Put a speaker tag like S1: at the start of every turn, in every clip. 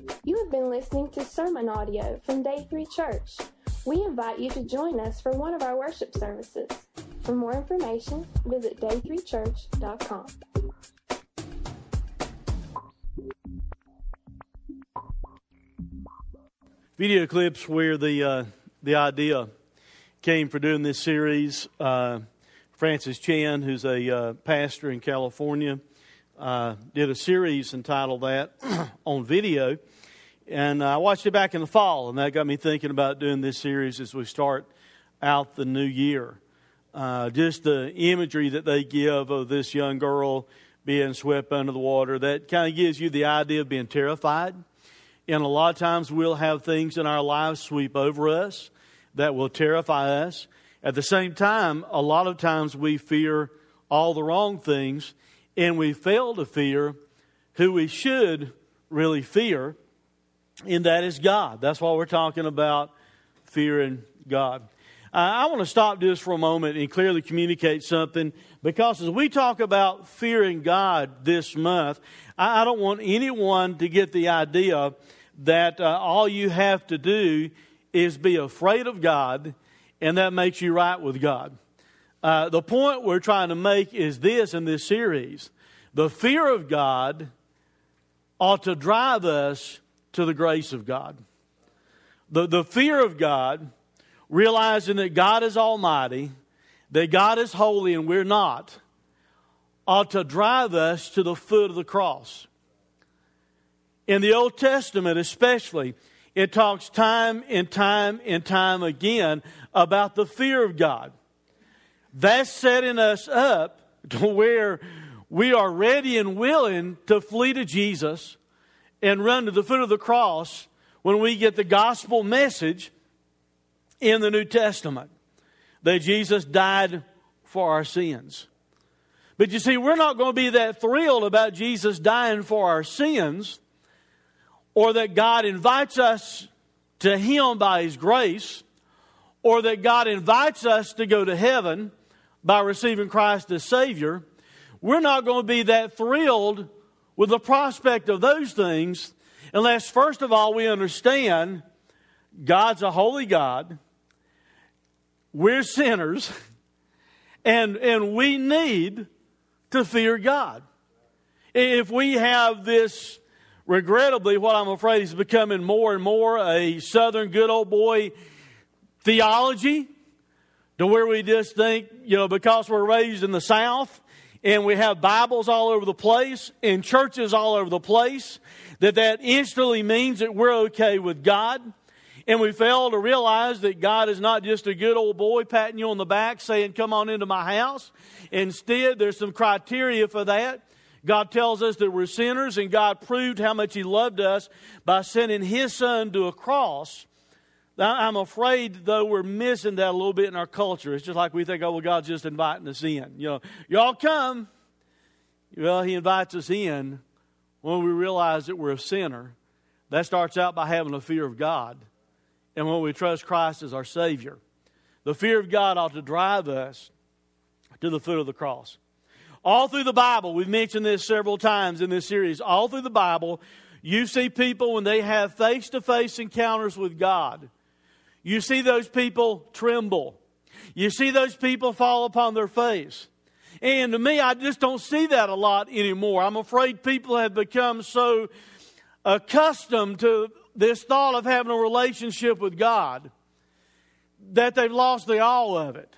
S1: You have been listening to sermon audio from Day 3 Church. We invite you to join us for one of our worship services. For more information, visit day3church.com.
S2: Video clips where the idea came for doing this series. Francis Chan, who's a pastor in California, did a series entitled that on video. And I watched it back in the fall, and that got me thinking about doing this series as we start out the new year. Just the imagery that they give of this young girl being swept under the water, that kind of gives you the idea of being terrified. And a lot of times we'll have things in our lives sweep over us that will terrify us. At the same time, a lot of times we fear all the wrong things, and we fail to fear who we should really fear, and that is God. That's why we're talking about fearing God. I want to stop just for a moment and clearly communicate something, because as we talk about fearing God this month, I don't want anyone to get the idea that all you have to do is be afraid of God, and that makes you right with God. The point we're trying to make is this in this series: the fear of God ought to drive us to the grace of God. The fear of God, realizing that God is almighty, that God is holy and we're not, ought to drive us to the foot of the cross. In the Old Testament especially, it talks time and time and time again about the fear of God. That's setting us up to where we are ready and willing to flee to Jesus and run to the foot of the cross when we get the gospel message in the New Testament that Jesus died for our sins. But you see, we're not going to be that thrilled about Jesus dying for our sins, or that God invites us to Him by His grace, or that God invites us to go to heaven by receiving Christ as Savior. We're not going to be that thrilled with the prospect of those things unless, first of all, we understand God's a holy God. We're sinners, and we need to fear God. If we have this, regrettably, what I'm afraid is becoming more and more a Southern good old boy theology, to where we just think, because we're raised in the South and we have Bibles all over the place and churches all over the place, that instantly means that we're okay with God. And we fail to realize that God is not just a good old boy patting you on the back saying, come on into my house. Instead, there's some criteria for that. God tells us that we're sinners, and God proved how much He loved us by sending His Son to a cross. I'm afraid, though, we're missing that a little bit in our culture. It's just like we think, God's just inviting us in. Y'all come. Well, He invites us in when we realize that we're a sinner. That starts out by having a fear of God, and when we trust Christ as our Savior. The fear of God ought to drive us to the foot of the cross. All through the Bible, we've mentioned this several times in this series, all through the Bible, you see people when they have face-to-face encounters with God, you see those people tremble. You see those people fall upon their face. And to me, I just don't see that a lot anymore. I'm afraid people have become so accustomed to this thought of having a relationship with God that they've lost the awe of it.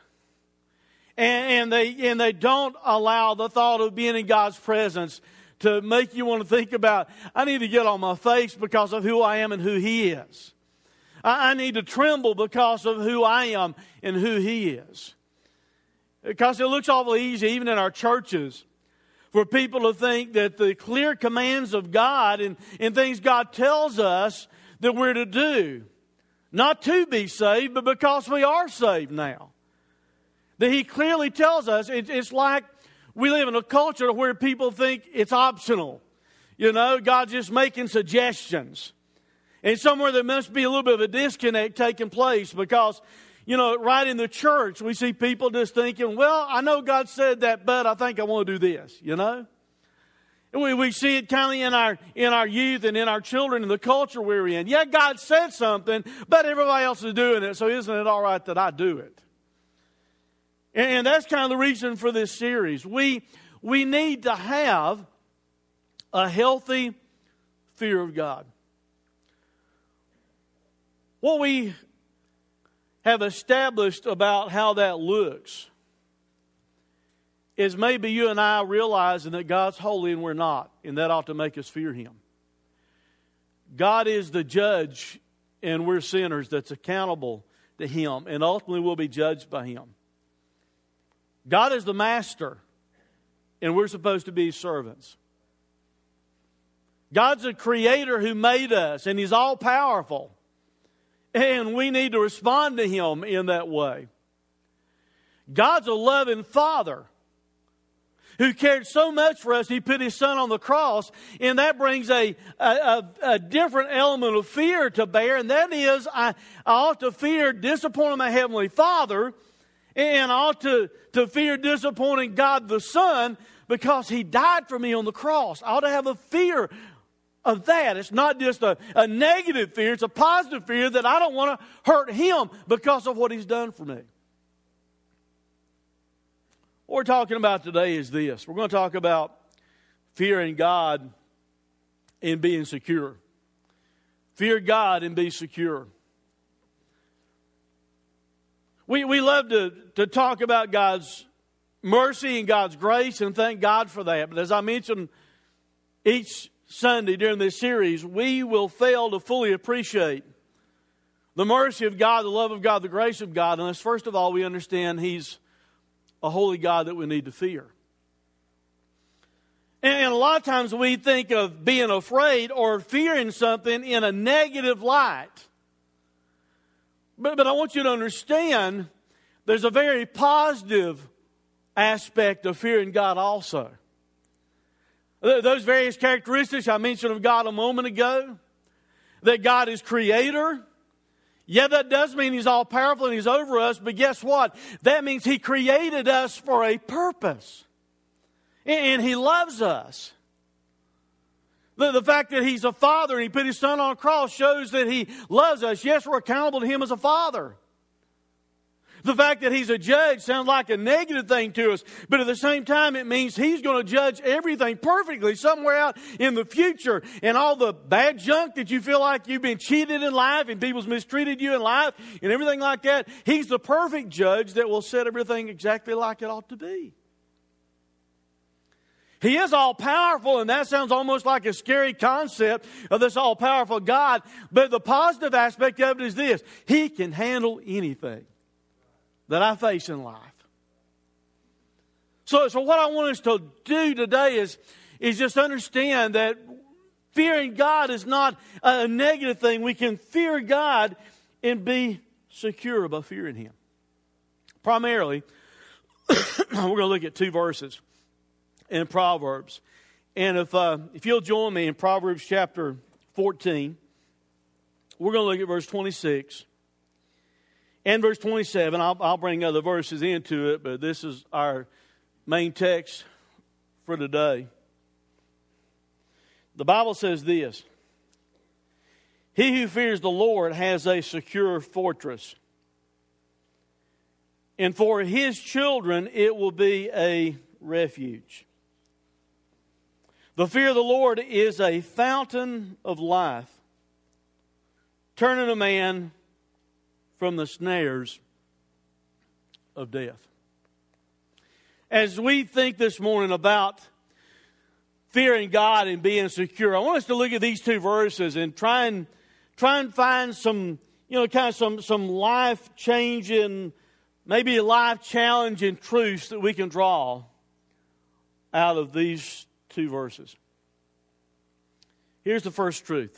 S2: And they don't allow the thought of being in God's presence to make you want to think about, I need to get on my face because of who I am and who He is. I need to tremble because of who I am and who He is. Because it looks awful easy, even in our churches, for people to think that the clear commands of God and things God tells us that we're to do, not to be saved, but because we are saved now. That He clearly tells us, it's like we live in a culture where people think it's optional. God's just making suggestions. And somewhere there must be a little bit of a disconnect taking place because, right in the church, we see people just thinking, well, I know God said that, but I think I want to do this, And we see it kind of in our youth and in our children and the culture we're in. Yeah, God said something, but everybody else is doing it, so isn't it all right that I do it? And that's kind of the reason for this series. We need to have a healthy fear of God. What we have established about how that looks is maybe you and I realizing that God's holy and we're not, and that ought to make us fear Him. God is the judge and we're sinners that's accountable to Him, and ultimately we'll be judged by Him. God is the master and we're supposed to be His servants. God's a creator who made us, and He's all powerful, and we need to respond to Him in that way. God's a loving Father who cared so much for us, He put His Son on the cross, and that brings a different element of fear to bear, and that is I ought to fear disappointing my Heavenly Father, and I ought to fear disappointing God the Son because He died for me on the cross. I ought to have a fear of that. It's not just a negative fear, it's a positive fear that I don't want to hurt Him because of what He's done for me. What we're talking about today is this. We're going to talk about fearing God and being secure. Fear God and be secure. We love to talk about God's mercy and God's grace and thank God for that. But as I mentioned each Sunday during this series, we will fail to fully appreciate the mercy of God, the love of God, the grace of God, unless first of all we understand He's a holy God that we need to fear. And a lot of times we think of being afraid or fearing something in a negative light. But I want you to understand there's a very positive aspect of fearing God also. Those various characteristics I mentioned of God a moment ago, that God is creator. Yeah, that does mean He's all powerful and He's over us, but guess what? That means He created us for a purpose. And He loves us. The fact that He's a Father and He put His Son on a cross shows that He loves us. Yes, we're accountable to Him as a Father. The fact that He's a judge sounds like a negative thing to us, but at the same time it means He's going to judge everything perfectly somewhere out in the future. And all the bad junk that you feel like you've been cheated in life and people's mistreated you in life and everything like that, He's the perfect judge that will set everything exactly like it ought to be. He is all-powerful, and that sounds almost like a scary concept of this all-powerful God. But the positive aspect of it is this: He can handle anything that I face in life. So what I want us to do today is just understand that fearing God is not a negative thing. We can fear God and be secure by fearing Him. Primarily, we're going to look at two verses in Proverbs. And if you'll join me in Proverbs chapter 14, we're going to look at verse 26 and verse 27. I'll bring other verses into it, but this is our main text for today. The Bible says this: He who fears the Lord has a secure fortress, and for his children it will be a refuge. The fear of the Lord is a fountain of life, turning a man from the snares of death. As we think this morning about fearing God and being secure, I want us to look at these two verses and try and find some, some life-changing, maybe life-challenging truths that we can draw out of these two verses. Here's the first truth.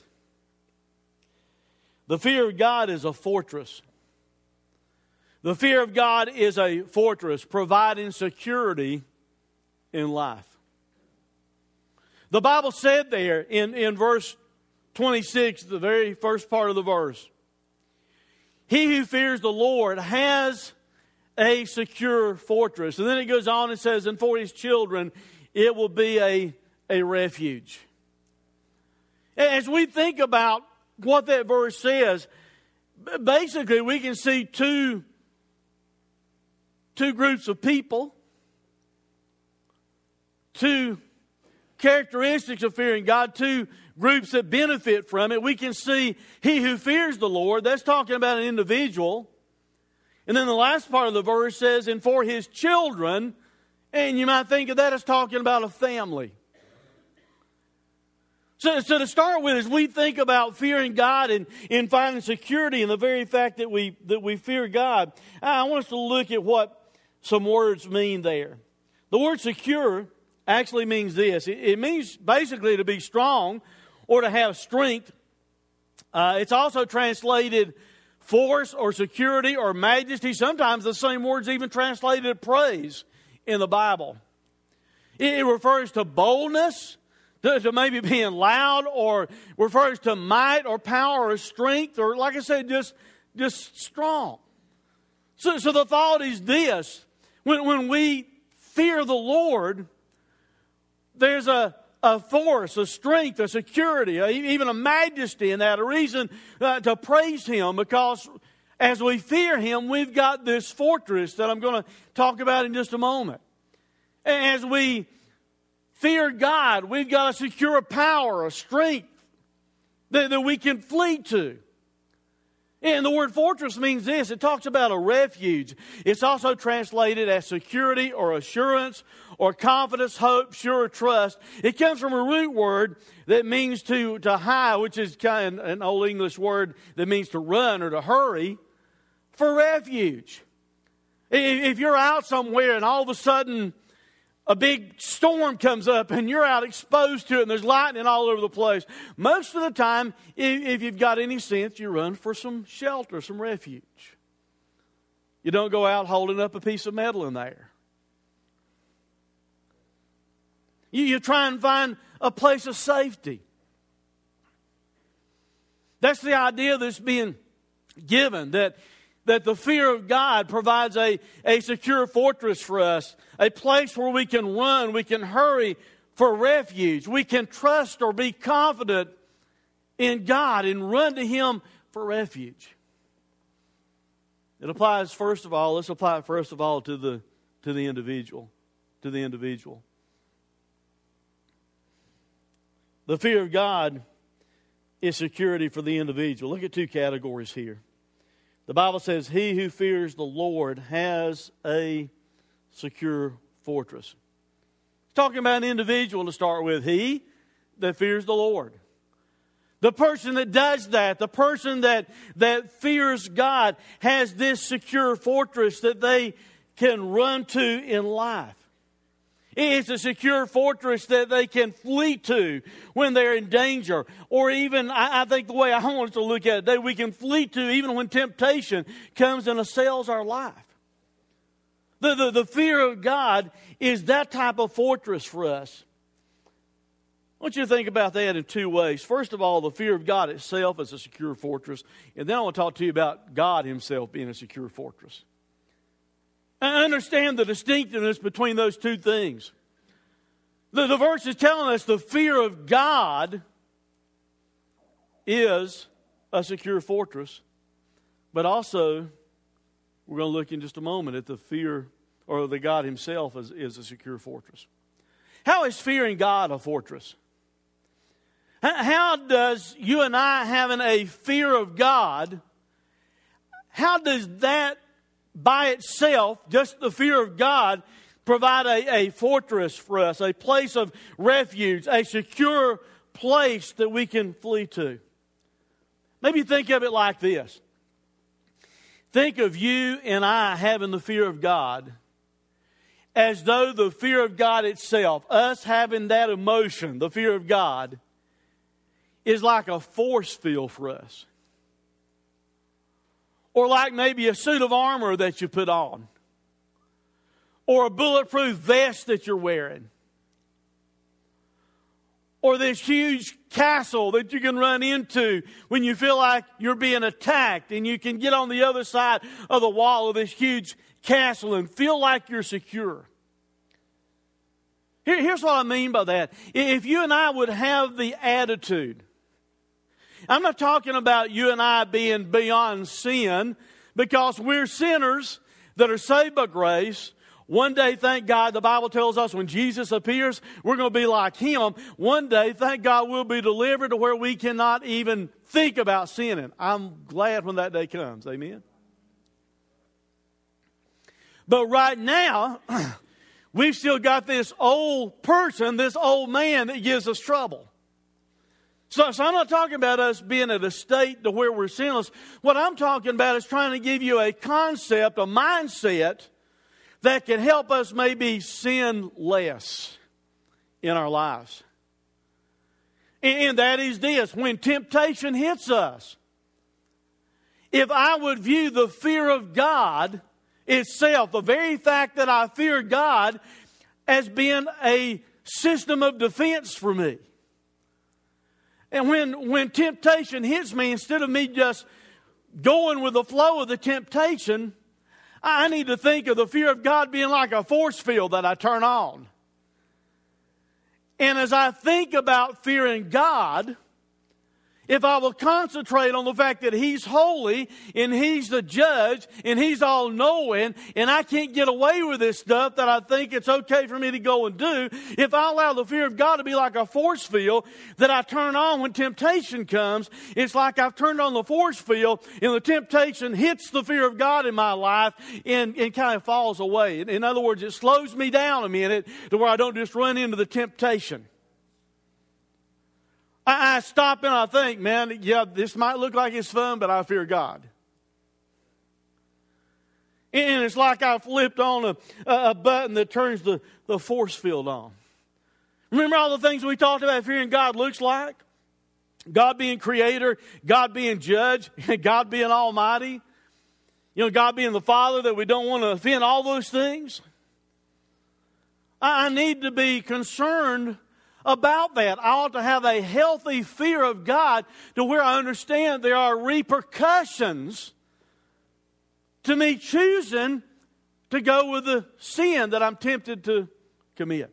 S2: The fear of God is a fortress. The fear of God is a fortress, providing security in life. The Bible said there in verse 26, the very first part of the verse, He who fears the Lord has a secure fortress. And then it goes on and says, and for his children it will be a a refuge. As we think about what that verse says, basically we can see two groups of people, two characteristics of fearing God, two groups that benefit from it. We can see he who fears the Lord, that's talking about an individual. And then the last part of the verse says, and for his children, and you might think of that as talking about a family. So to start with, as we think about fearing God and finding security in the very fact that we fear God, I want us to look at what some words mean there. The word secure actually means this. It means basically to be strong or to have strength. It's also translated force or security or majesty. Sometimes the same word's even translated praise in the Bible. It refers to boldness, to maybe being loud, or refers to might or power or strength, or like I said, just strong. So the thought is this: when we fear the Lord, there's a force, a strength, a security, even a majesty in that, a reason to praise Him, because as we fear Him, we've got this fortress that I'm going to talk about in just a moment. As we fear God, we've got a secure power, a strength that we can flee to. And the word fortress means this. It talks about a refuge. It's also translated as security or assurance or confidence, hope, sure trust. It comes from a root word that means to hie, which is kind of an old English word that means to run or to hurry, for refuge. If you're out somewhere and all of a sudden a big storm comes up and you're out exposed to it and there's lightning all over the place, most of the time, if you've got any sense, you run for some shelter, some refuge. You don't go out holding up a piece of metal in there. You try and find a place of safety. That's the idea that's being given, that the fear of God provides a secure fortress for us, a place where we can run, we can hurry for refuge, we can trust or be confident in God and run to Him for refuge. It applies let's apply it first of all to the individual. To the individual. The fear of God is security for the individual. Look at two categories here. The Bible says, he who fears the Lord has a secure fortress. It's talking about an individual to start with. He that fears the Lord. The person that does that, the person that fears God, has this secure fortress that they can run to in life. It's a secure fortress that they can flee to when they're in danger. Or even, I think the way I want us to look at it today, we can flee to even when temptation comes and assails our life. The fear of God is that type of fortress for us. I want you to think about that in two ways. First of all, the fear of God itself is a secure fortress. And then I want to talk to you about God Himself being a secure fortress. I understand the distinctiveness between those two things. The verse is telling us the fear of God is a secure fortress. But also, we're going to look in just a moment at the fear, or the God Himself is a secure fortress. How is fearing God a fortress? How does you and I having a fear of God, how does that by itself, just the fear of God, provide a fortress for us, a place of refuge, a secure place that we can flee to? Maybe think of it like this. Think of you and I having the fear of God as though the fear of God itself, us having that emotion, the fear of God, is like a force field for us. Or like maybe a suit of armor that you put on. Or a bulletproof vest that you're wearing. Or this huge castle that you can run into when you feel like you're being attacked, and you can get on the other side of the wall of this huge castle and feel like you're secure. Here's what I mean by that. If you and I would have the attitude, I'm not talking about you and I being beyond sin, because we're sinners that are saved by grace. One day, thank God, the Bible tells us when Jesus appears, we're going to be like Him. One day, thank God, we'll be delivered to where we cannot even think about sinning. I'm glad when that day comes. Amen. But right now, we've still got this old person, this old man that gives us trouble. So I'm not talking about us being at a state to where we're sinless. What I'm talking about is trying to give you a concept, a mindset that can help us maybe sin less in our lives. And that is this: when temptation hits us, if I would view the fear of God itself, the very fact that I fear God, as being a system of defense for me. And when temptation hits me, instead of me just going with the flow of the temptation, I need to think of the fear of God being like a force field that I turn on. And as I think about fearing God, if I will concentrate on the fact that He's holy and He's the judge and He's all-knowing and I can't get away with this stuff that I think it's okay for me to go and do, if I allow the fear of God to be like a force field that I turn on when temptation comes, it's like I've turned on the force field and the temptation hits the fear of God in my life and kind of falls away. In other words, it slows me down a minute to where I don't just run into the temptation. I stop and I think, man, yeah, this might look like it's fun, but I fear God. And it's like I flipped on a button that turns the force field on. Remember all the things we talked about fearing God looks like? God being creator, God being judge, God being almighty. You know, God being the Father that we don't want to offend, all those things. I need to be concerned about that. I ought to have a healthy fear of God to where I understand there are repercussions to me choosing to go with the sin that I'm tempted to commit.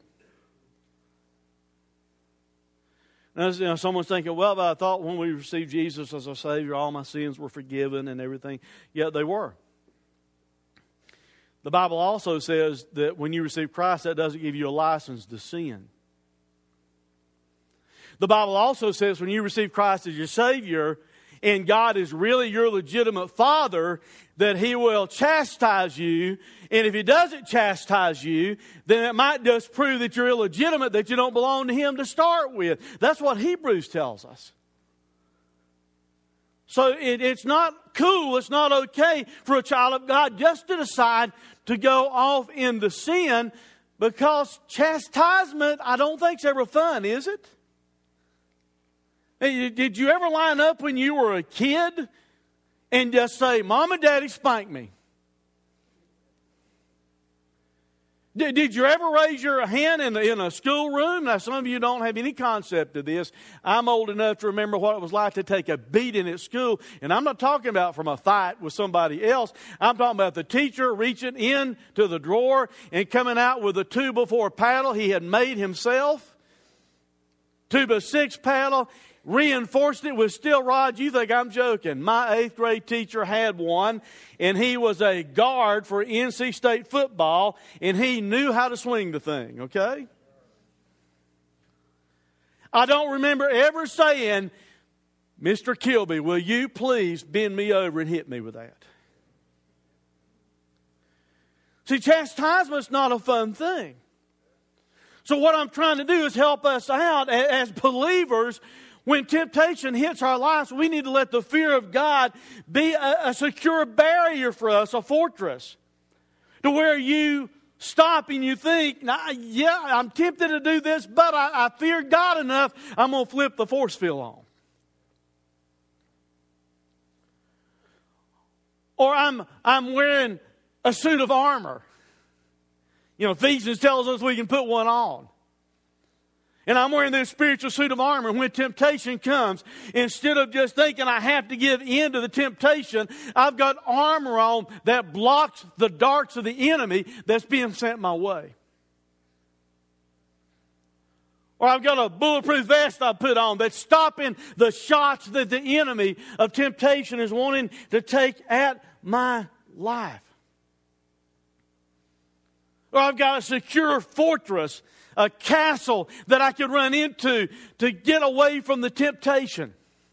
S2: Now, someone's thinking, well, but I thought when we received Jesus as our Savior, all my sins were forgiven and everything. Yeah, they were. The Bible also says that when you receive Christ, that doesn't give you a license to sin. The Bible also says when you receive Christ as your Savior and God is really your legitimate Father, that He will chastise you. And if He doesn't chastise you, then it might just prove that you're illegitimate, that you don't belong to Him to start with. That's what Hebrews tells us. So it's not cool, it's not okay for a child of God just to decide to go off into sin, because chastisement, I don't think is ever fun, is it? Hey, did you ever line up when you were a kid and just say, Mom and Daddy spanked me? Did you ever raise your hand in a schoolroom? Now, some of you don't have any concept of this. I'm old enough to remember what it was like to take a beating at school. And I'm not talking about from a fight with somebody else. I'm talking about the teacher reaching in to the drawer and coming out with a 2x4 paddle he had made himself. 2x6 paddle. Reinforced it with steel rods. You think I'm joking. My 8th grade teacher had one, and he was a guard for NC State football, and he knew how to swing the thing, okay? I don't remember ever saying, Mr. Kilby, will you please bend me over and hit me with that? See, chastisement's not a fun thing. So what I'm trying to do is help us out as believers. When temptation hits our lives, we need to let the fear of God be a secure barrier for us, a fortress, to where you stop and you think, yeah, I'm tempted to do this, but I fear God enough, I'm going to flip the force field on. Or I'm wearing a suit of armor. You know, Ephesians tells us we can put one on. And I'm wearing this spiritual suit of armor. When temptation comes, instead of just thinking I have to give in to the temptation, I've got armor on that blocks the darts of the enemy that's being sent my way. Or I've got a bulletproof vest I put on that's stopping the shots that the enemy of temptation is wanting to take at my life. Or I've got a secure fortress, a castle that I could run into to get away from the temptation.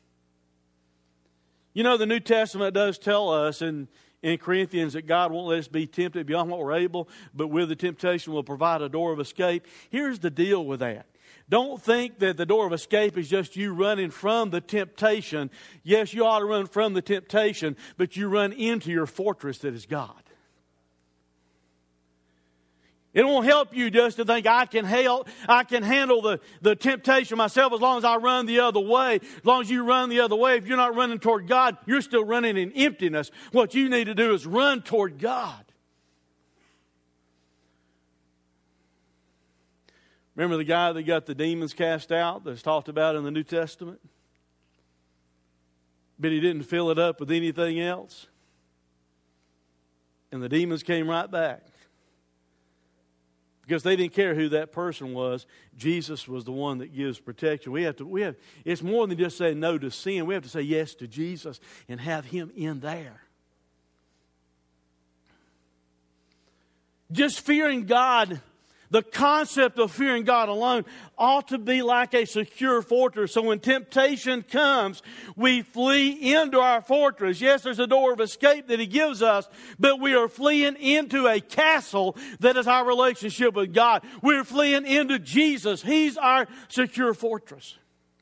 S2: You know, the New Testament does tell us in Corinthians that God won't let us be tempted beyond what we're able, but with the temptation will provide a door of escape. Here's the deal with that. Don't think that the door of escape is just you running from the temptation. Yes, you ought to run from the temptation, but you run into your fortress that is God. It won't help you just to think I can handle the temptation myself as long as I run the other way. As long as you run the other way, if you're not running toward God, you're still running in emptiness. What you need to do is run toward God. Remember the guy that got the demons cast out that's talked about in the New Testament? But he didn't fill it up with anything else. And the demons came right back. Because they didn't care who that person was. Jesus was the one that gives protection. It's more than just saying no to sin. We have to say yes to Jesus and have Him in there. Just fearing God, the concept of fearing God alone ought to be like a secure fortress. So when temptation comes, we flee into our fortress. Yes, there's a door of escape that He gives us, but we are fleeing into a castle that is our relationship with God. We're fleeing into Jesus. He's our secure fortress.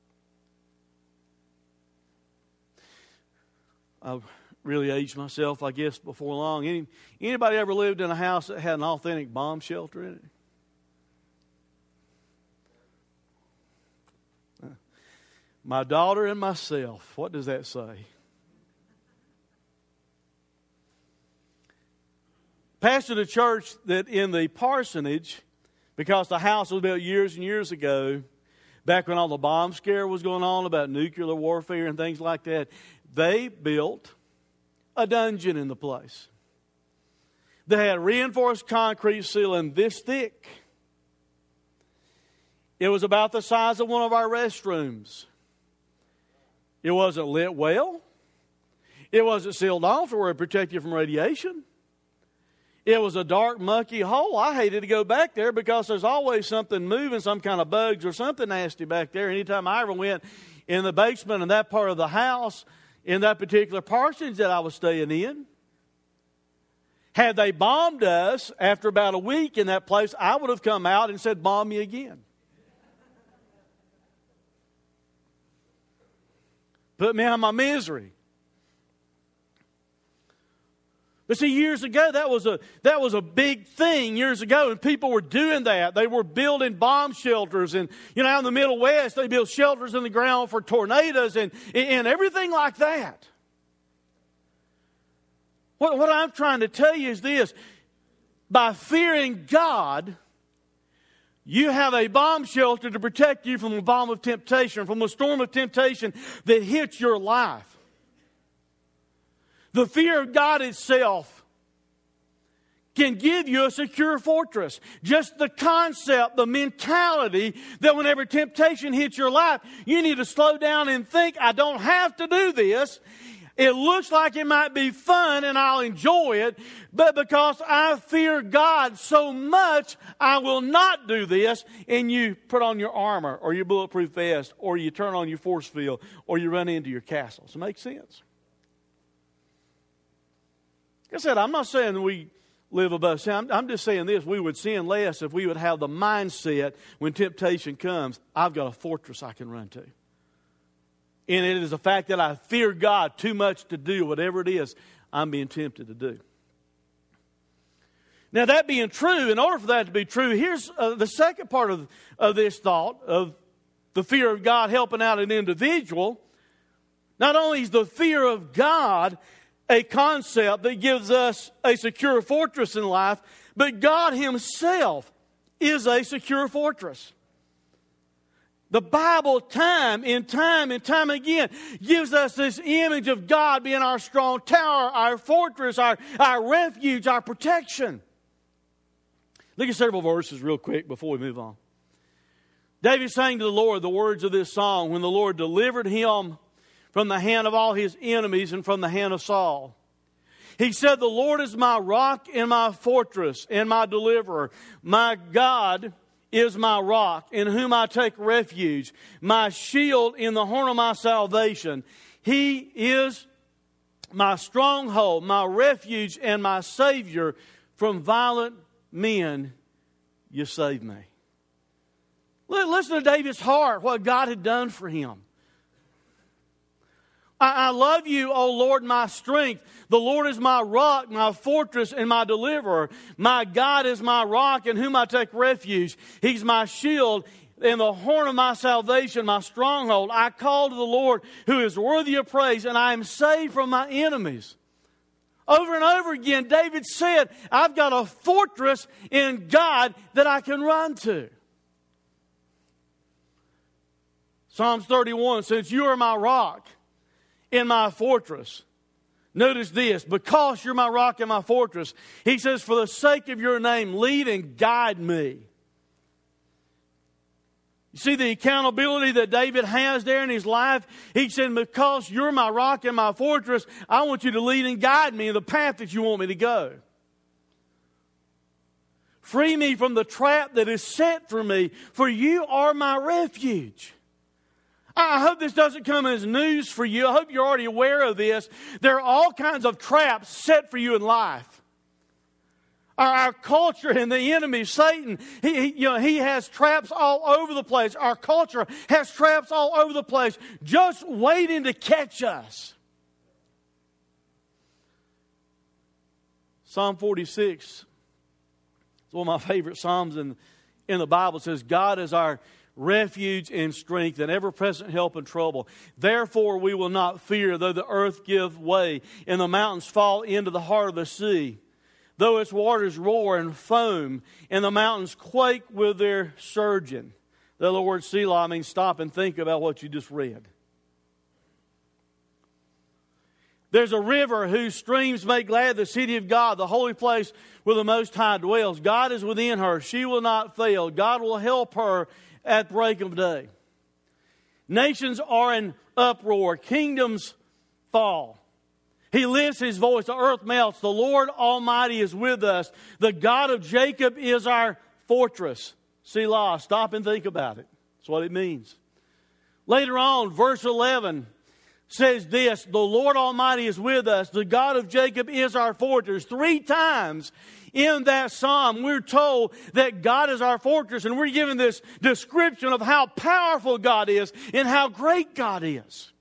S2: I've really aged myself, I guess, before long. Anybody ever lived in a house that had an authentic bomb shelter in it? My daughter and myself. What does that say? Pastored a church that in the parsonage, because the house was built years and years ago, back when all the bomb scare was going on about nuclear warfare and things like that, they built a dungeon in the place. They had reinforced concrete ceiling this thick. It was about the size of one of our restrooms. It wasn't lit well. It wasn't sealed off where it protected you from radiation. It was a dark, mucky hole. I hated to go back there because there's always something moving, some kind of bugs or something nasty back there. Anytime I ever went in the basement in that part of the house, in that particular parsonage that I was staying in, had they bombed us after about a week in that place, I would have come out and said, "Bomb me again." Put me out of my misery. But see, years ago, that was a big thing years ago, and people were doing that. They were building bomb shelters, and out in the Middle West, they built shelters in the ground for tornadoes and everything like that. What I'm trying to tell you is this: by fearing God, you have a bomb shelter to protect you from the bomb of temptation, from the storm of temptation that hits your life. The fear of God itself can give you a secure fortress. Just the concept, the mentality that whenever temptation hits your life, you need to slow down and think, I don't have to do this. It looks like it might be fun and I'll enjoy it, but because I fear God so much, I will not do this. And you put on your armor or your bulletproof vest, or you turn on your force field, or you run into your castle. Does it make sense? Like I said, I'm not saying that we live above sin. I'm just saying this: we would sin less if we would have the mindset when temptation comes, I've got a fortress I can run to. And it is the fact that I fear God too much to do whatever it is I'm being tempted to do. Now, that being true, in order for that to be true, here's the second part of this thought of the fear of God helping out an individual. Not only is the fear of God a concept that gives us a secure fortress in life, but God Himself is a secure fortress. The Bible time and time again gives us this image of God being our strong tower, our fortress, our refuge, our protection. Look at several verses real quick before we move on. David sang to the Lord the words of this song when the Lord delivered him from the hand of all his enemies and from the hand of Saul. He said, the Lord is my rock and my fortress and my deliverer. My God is my rock in whom I take refuge, my shield in the horn of my salvation. He is my stronghold, my refuge, and my Savior. From violent men you save me. Listen to David's heart, what God had done for him. I love you, O Lord, my strength. The Lord is my rock, my fortress, and my deliverer. My God is my rock in whom I take refuge. He's my shield and the horn of my salvation, my stronghold. I call to the Lord who is worthy of praise, and I am saved from my enemies. Over and over again, David said, I've got a fortress in God that I can run to. Psalms 31 says, you are my rock in my fortress. Notice this, because you're my rock and my fortress. He says, for the sake of your name, lead and guide me. You see the accountability that David has there in his life? He said, because you're my rock and my fortress, I want you to lead and guide me in the path that you want me to go. Free me from the trap that is set for me, for you are my refuge. I hope this doesn't come as news for you. I hope you're already aware of this. There are all kinds of traps set for you in life. Our culture and the enemy, Satan, he has traps all over the place. Our culture has traps all over the place, just waiting to catch us. Psalm 46 is one of my favorite psalms in the Bible. It says, God is our refuge and strength and ever-present help in trouble. Therefore we will not fear, though the earth give way and the mountains fall into the heart of the sea. Though its waters roar and foam and the mountains quake with their surging. The other word Selah means stop and think about what you just read. There's a river whose streams make glad the city of God, the holy place where the Most High dwells. God is within her. She will not fail. God will help her at break of day. Nations are in uproar. Kingdoms fall. He lifts his voice. The earth melts. The Lord Almighty is with us. The God of Jacob is our fortress. Selah. Stop and think about it. That's what it means. Later on, verse 11 says this, the Lord Almighty is with us. The God of Jacob is our fortress. 3 times in that psalm, we're told that God is our fortress, and we're given this description of how powerful God is and how great God is.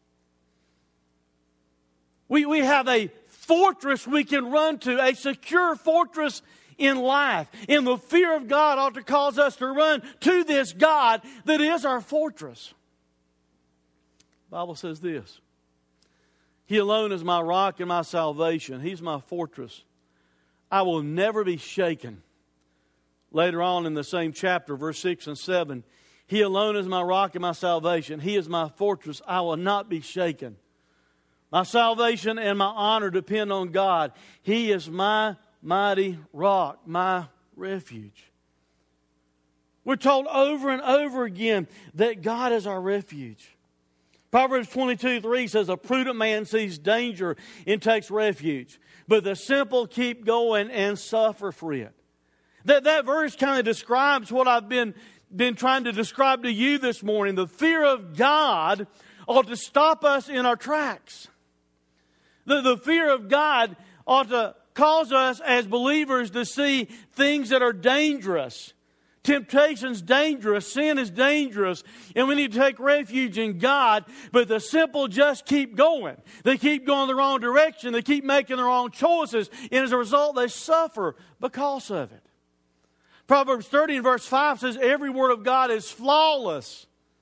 S2: We have a fortress we can run to, a secure fortress in life. And the fear of God ought to cause us to run to this God that is our fortress. The Bible says this, He alone is my rock and my salvation. He's my fortress. I will never be shaken. Later on in the same chapter, verse 6 and 7, He alone is my rock and my salvation. He is my fortress. I will not be shaken. My salvation and my honor depend on God. He is my mighty rock, my refuge. We're told over and over again that God is our refuge. Proverbs 22:3 says, a prudent man sees danger and takes refuge, but the simple keep going and suffer for it. That verse kind of describes what I've been trying to describe to you this morning. The fear of God ought to stop us in our tracks. The fear of God ought to cause us as believers to see things that are dangerous. Temptation's dangerous, sin is dangerous, and we need to take refuge in God, but the simple just keep going. They keep going the wrong direction, they keep making the wrong choices, and as a result they suffer because of it. Proverbs 30 and verse 5 says, every word of God is flawless.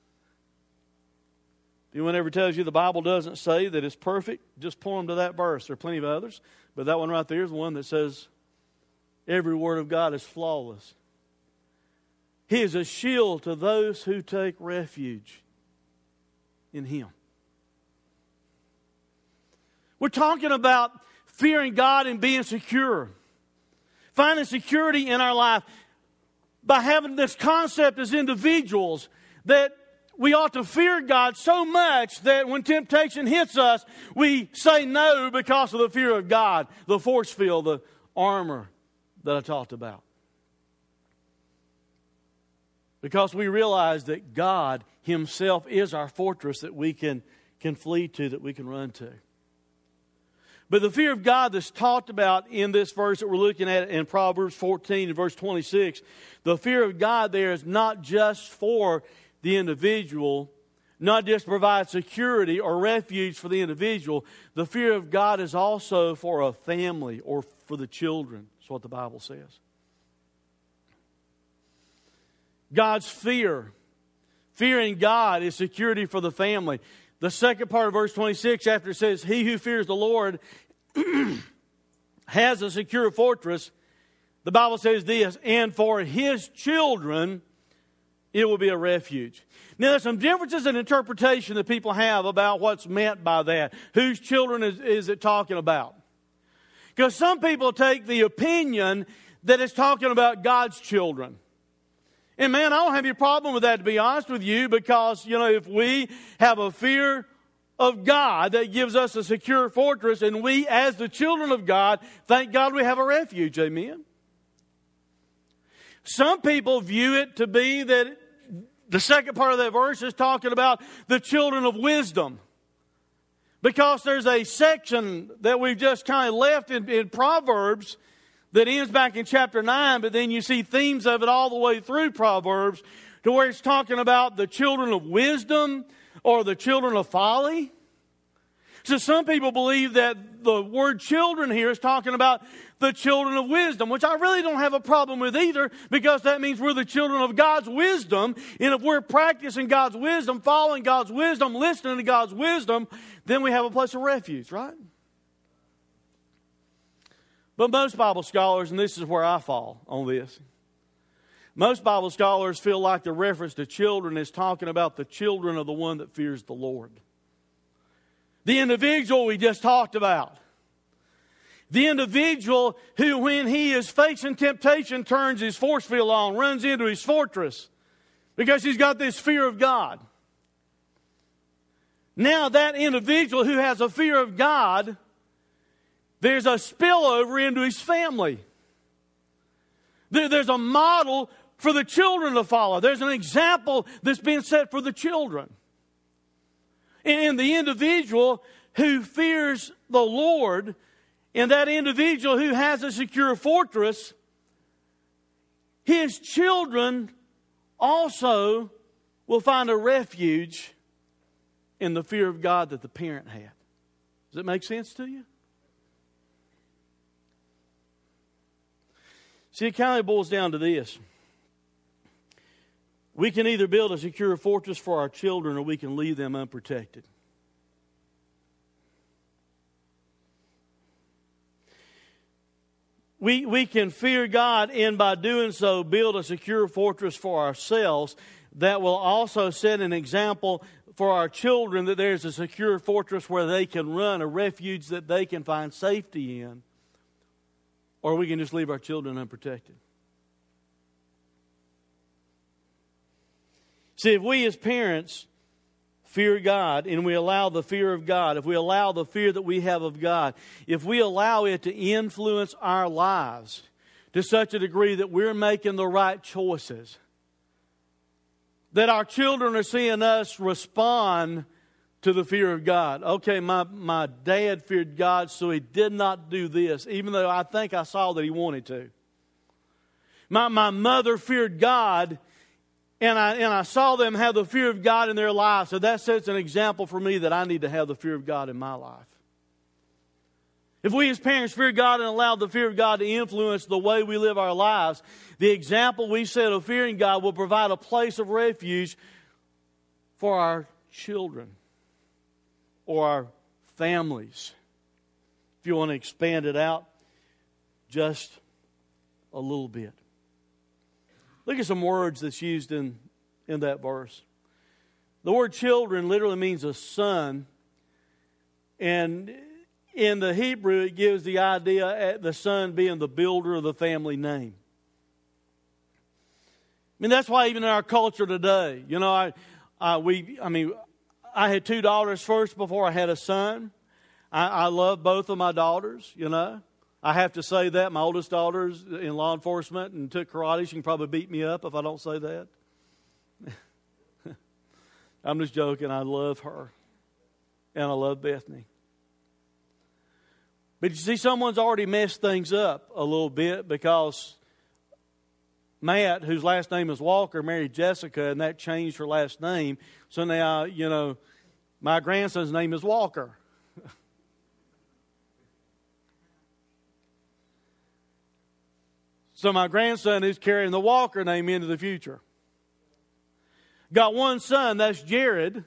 S2: If anyone ever tells you the Bible doesn't say that it's perfect, just point them to that verse. There are plenty of others, but that one right there is the one that says every word of God is flawless. He is a shield to those who take refuge in Him. We're talking about fearing God and being secure. Finding security in our life by having this concept as individuals that we ought to fear God so much that when temptation hits us, we say no because of the fear of God, the force field, the armor that I talked about. Because we realize that God Himself is our fortress that we can flee to, that we can run to. But the fear of God that's talked about in this verse that we're looking at in Proverbs 14 and verse 26, the fear of God there is not just for the individual, not just to provide security or refuge for the individual. The fear of God is also for a family or for the children. That's what the Bible says. God's fear. Fearing God is security for the family. The second part of verse 26, after it says, he who fears the Lord has a secure fortress, the Bible says this, and for his children it will be a refuge. Now there's some differences in interpretation that people have about what's meant by that. Whose children is it talking about? Because some people take the opinion that it's talking about God's children. And man, I don't have any problem with that, to be honest with you, because, if we have a fear of God that gives us a secure fortress, and we, as the children of God, thank God we have a refuge. Amen? Some people view it to be that the second part of that verse is talking about the children of wisdom. Because there's a section that we've just kind of left in Proverbs that ends back in chapter 9, but then you see themes of it all the way through Proverbs to where it's talking about the children of wisdom or the children of folly. So some people believe that the word children here is talking about the children of wisdom, which I really don't have a problem with either, because that means we're the children of God's wisdom. And if we're practicing God's wisdom, following God's wisdom, listening to God's wisdom, then we have a place of refuge, right? But most Bible scholars, and this is where I fall on this, most Bible scholars feel like the reference to children is talking about the children of the one that fears the Lord. The individual we just talked about. The individual who, when he is facing temptation, turns his force field on, runs into his fortress, because he's got this fear of God. Now that individual who has a fear of God, there's a spillover into his family. There's a model for the children to follow. There's an example that's being set for the children. And the individual who fears the Lord, and that individual who has a secure fortress, his children also will find a refuge in the fear of God that the parent had. Does it make sense to you? See, it kind of boils down to this. We can either build a secure fortress for our children, or we can leave them unprotected. We can fear God, and by doing so, build a secure fortress for ourselves that will also set an example for our children, that there's a secure fortress where they can run, a refuge that they can find safety in. Or we can just leave our children unprotected. See, if we as parents fear God, and we allow the fear of God, if we allow the fear that we have of God, if we allow it to influence our lives to such a degree that we're making the right choices, that our children are seeing us respond to the fear of God. Okay, my dad feared God, so he did not do this, even though I think I saw that he wanted to. My mother feared God, and I saw them have the fear of God in their lives. So that sets an example for me that I need to have the fear of God in my life. If we as parents fear God and allow the fear of God to influence the way we live our lives, the example we set of fearing God will provide a place of refuge for our children or our families. If you want to expand it out just a little bit. Look at some words that's used in that verse. The word children literally means a son. And in the Hebrew, it gives the idea of the son being the builder of the family name. mean, that's why even in our culture today, you know, I had two daughters first before I had a son. I love both of my daughters, you know. I have to say that. My oldest daughter's in law enforcement and took karate. She can probably beat me up if I don't say that. I'm just joking. I love her. And I love Bethany. But you see, someone's already messed things up a little bit because Matt, whose last name is Walker, married Jessica, and that changed her last name. So now, you know, my grandson's name is Walker. So my grandson is carrying the Walker name into the future. Got one son, that's Jared.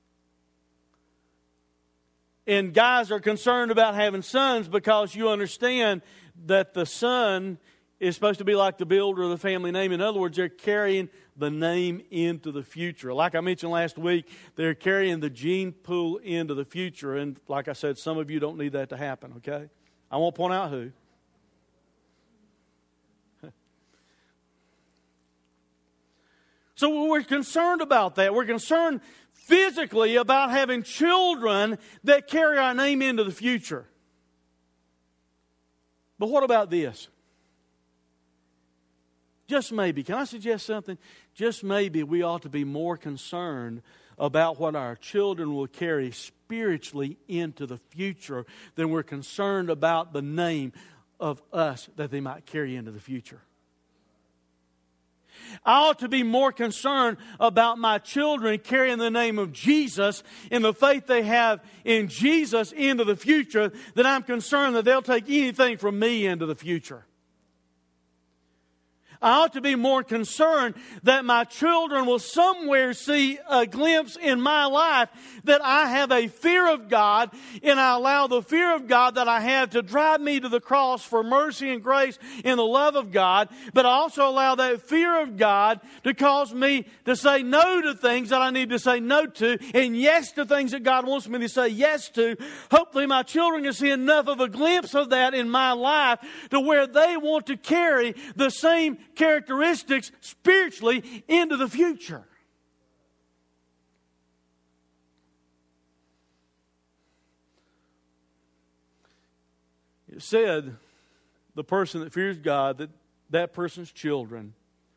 S2: And guys are concerned about having sons because you understand that the son is supposed to be like the builder of the family name. In other words, they're carrying the name into the future. Like I mentioned last week, they're carrying the gene pool into the future. And like I said, some of you don't need that to happen, okay? I won't point out who. So we're concerned about that. We're concerned physically about having children that carry our name into the future. But what about this? Just maybe, can I suggest something? Just maybe we ought to be more concerned about what our children will carry spiritually into the future than we're concerned about the name of us that they might carry into the future. I ought to be more concerned about my children carrying the name of Jesus and the faith they have in Jesus into the future than I'm concerned that they'll take anything from me into the future. I ought to be more concerned that my children will somewhere see a glimpse in my life that I have a fear of God, and I allow the fear of God that I have to drive me to the cross for mercy and grace and the love of God, but I also allow that fear of God to cause me to say no to things that I need to say no to and yes to things that God wants me to say yes to. Hopefully my children can see enough of a glimpse of that in my life to where they want to carry the same characteristics spiritually into the future. It said the person that fears God, that person's children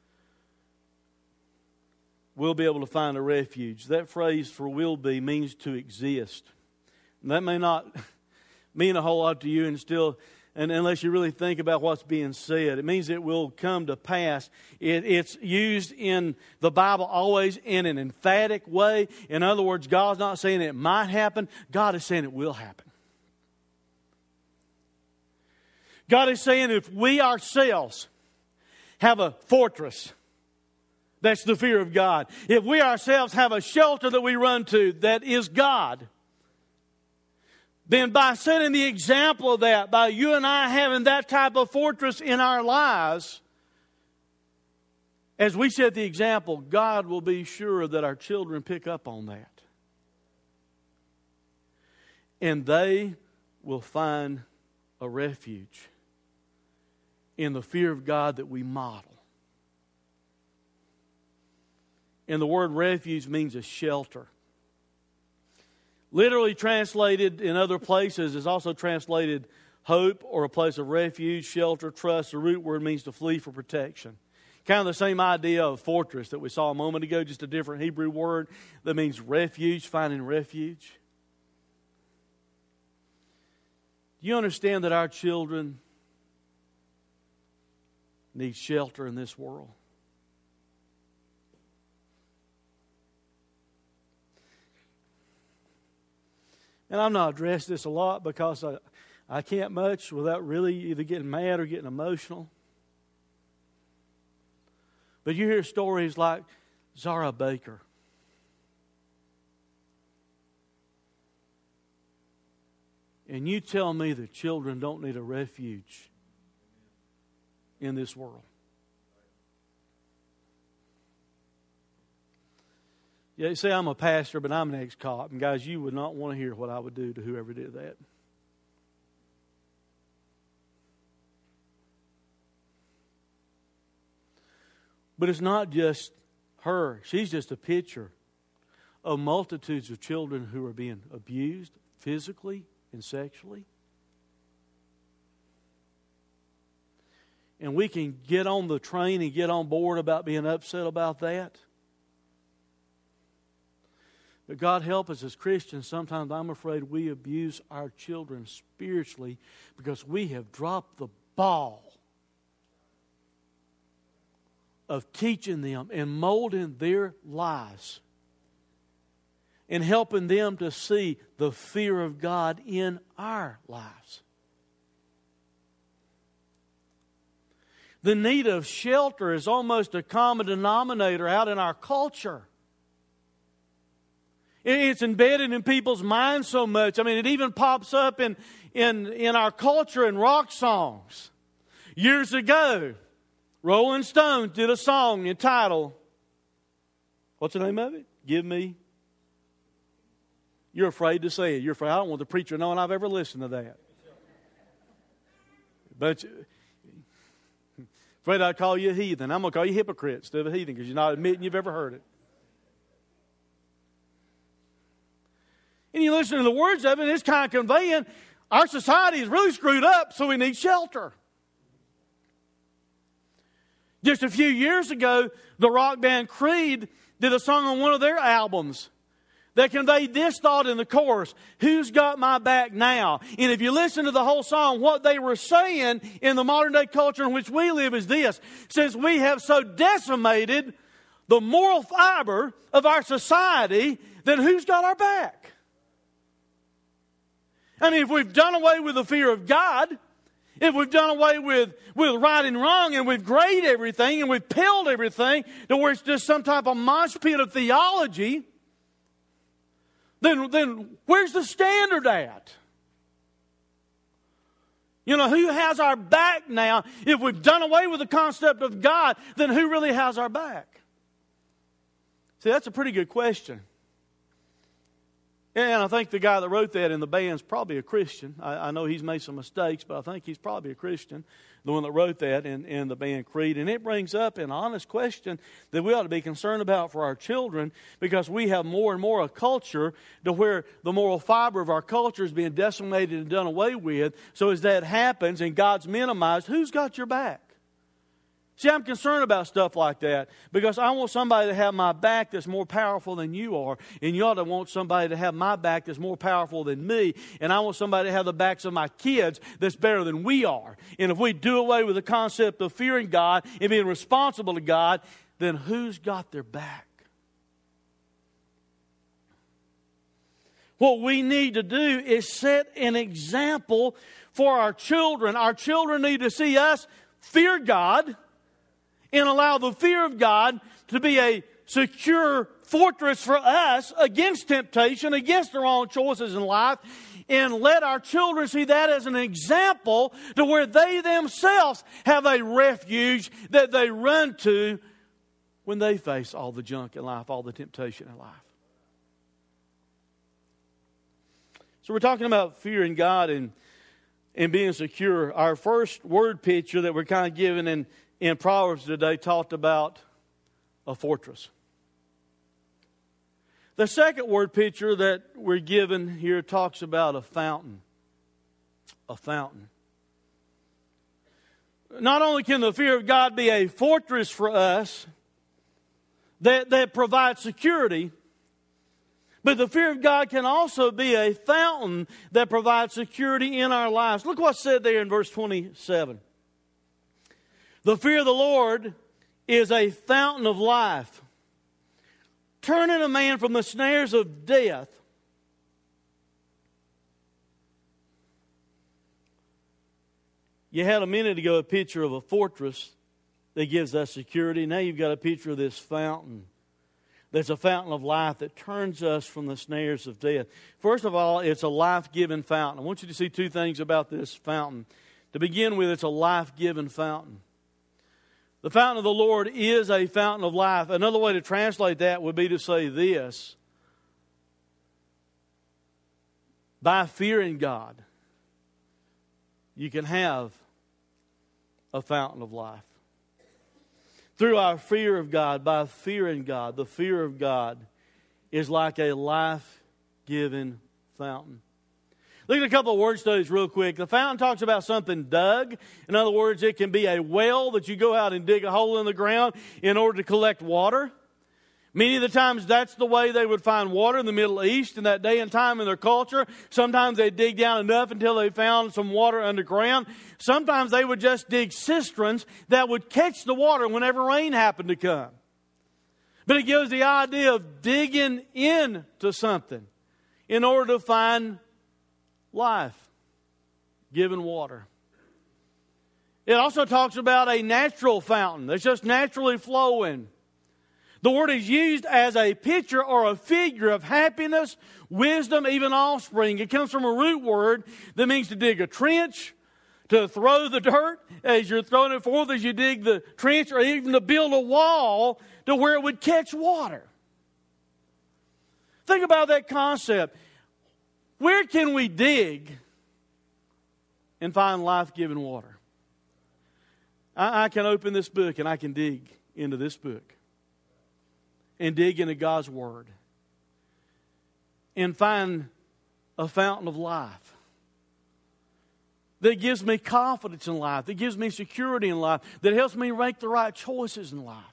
S2: will be able to find a refuge. That phrase for will be means to exist. And that may not mean a whole lot to you and unless you really think about what's being said. It means it will come to pass. It's used in the Bible always in an emphatic way. In other words, God's not saying it might happen. God is saying it will happen. God is saying if we ourselves have a fortress, that's the fear of God. If we ourselves have a shelter that we run to, that is God, then by setting the example of that, by you and I having that type of fortress in our lives, as we set the example, God will be sure that our children pick up on that. And they will find a refuge in the fear of God that we model. And the word refuge means a shelter. Literally translated in other places is also translated hope or a place of refuge, shelter, trust. The root word means to flee for protection. Kind of the same idea of fortress that we saw a moment ago, just a different Hebrew word that means refuge, finding refuge. Do you understand that our children need shelter in this world? And I'm not addressing this a lot because I can't much without really either getting mad or getting emotional. But you hear stories like Zara Baker. And you tell me that children don't need a refuge in this world. Yeah, you say I'm a pastor, but I'm an ex-cop. And guys, you would not want to hear what I would do to whoever did that. But it's not just her. She's just a picture of multitudes of children who are being abused physically and sexually. And we can get on the train and get on board about being upset about that. But God help us as Christians, sometimes I'm afraid we abuse our children spiritually because we have dropped the ball of teaching them and molding their lives and helping them to see the fear of God in our lives. The need of shelter is almost a common denominator out in our culture. It's embedded in people's minds so much. I mean, it even pops up in our culture in rock songs. Years ago, Rolling Stones did a song entitled, what's the name of it? Give Me. You're afraid to say it. You're afraid. I don't want the preacher knowing I've ever listened to that. But afraid I'd call you a heathen. I'm going to call you hypocrite instead of a heathen because you're not admitting you've ever heard it. And you listen to the words of it, and it's kind of conveying our society is really screwed up, so we need shelter. Just a few years ago, the rock band Creed did a song on one of their albums that conveyed this thought in the chorus: who's got my back now? And if you listen to the whole song, what they were saying in the modern day culture in which we live is this: since we have so decimated the moral fiber of our society, then who's got our back? I mean, if we've done away with the fear of God, if we've done away with right and wrong, and we've graded everything, and we've pilled everything to where it's just some type of mosh pit of theology, then where's the standard at? You know, who has our back now? If we've done away with the concept of God, then who really has our back? See, that's a pretty good question. And I think the guy that wrote that in the band's probably a Christian. I know he's made some mistakes, but I think he's probably a Christian, the one that wrote that in the band Creed. And it brings up an honest question that we ought to be concerned about for our children, because we have more and more a culture to where the moral fiber of our culture is being decimated and done away with. So as that happens and God's minimized, who's got your back? See, I'm concerned about stuff like that because I want somebody to have my back that's more powerful than you are. And you ought to want somebody to have my back that's more powerful than me. And I want somebody to have the backs of my kids that's better than we are. And if we do away with the concept of fearing God and being responsible to God, then who's got their back? What we need to do is set an example for our children. Our children need to see us fear God and allow the fear of God to be a secure fortress for us against temptation, against the wrong choices in life, and let our children see that as an example to where they themselves have a refuge that they run to when they face all the junk in life, all the temptation in life. So we're talking about fearing God and being secure. Our first word picture that we're kind of given in Proverbs today talked about a fortress. The second word picture that we're given here talks about a fountain. A fountain. Not only can the fear of God be a fortress for us that provides security, but the fear of God can also be a fountain that provides security in our lives. Look what's said there in verse 27. The fear of the Lord is a fountain of life, turning a man from the snares of death. You had a minute ago a picture of a fortress that gives us security. Now you've got a picture of this fountain. That's a fountain of life that turns us from the snares of death. First of all, it's a life-giving fountain. I want you to see two things about this fountain. To begin with, it's a life-giving fountain. The fountain of the Lord is a fountain of life. Another way to translate that would be to say this: by fearing God, you can have a fountain of life. through our fear of God, by fearing God. The fear of God is like a life-giving fountain. Look at a couple of word studies real quick. The fountain talks about something dug. In other words, it can be a well that you go out and dig a hole in the ground in order to collect water. Many of the times that's the way they would find water in the Middle East in that day and time in their culture. Sometimes they'd dig down enough until they found some water underground. Sometimes they would just dig cisterns that would catch the water whenever rain happened to come. But it gives the idea of digging into something in order to find life-giving water. It also talks about a natural fountain that's just naturally flowing. The word is used as a picture or a figure of happiness, wisdom, even offspring. It comes from a root word that means to dig a trench, to throw the dirt as you're throwing it forth as you dig the trench, or even to build a wall to where it would catch water. Think about that concept. Where can we dig and find life-giving water? I can open this book and I can dig into this book and dig into God's Word and find a fountain of life that gives me confidence in life, that gives me security in life, that helps me make the right choices in life.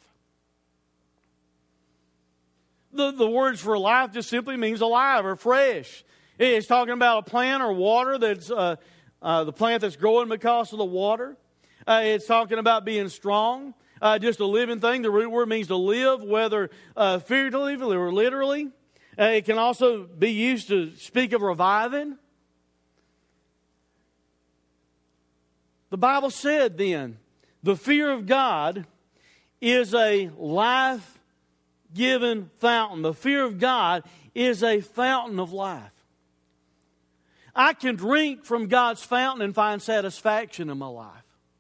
S2: The words for life just simply means alive or fresh. It's talking about a plant or water that's the plant that's growing because of the water. It's talking about being strong, just a living thing. The root word means to live, whether figuratively or literally. It can also be used to speak of reviving. The Bible said then, the fear of God is a life-giving fountain. The fear of God is a fountain of life. I can drink from God's fountain and find satisfaction in my life.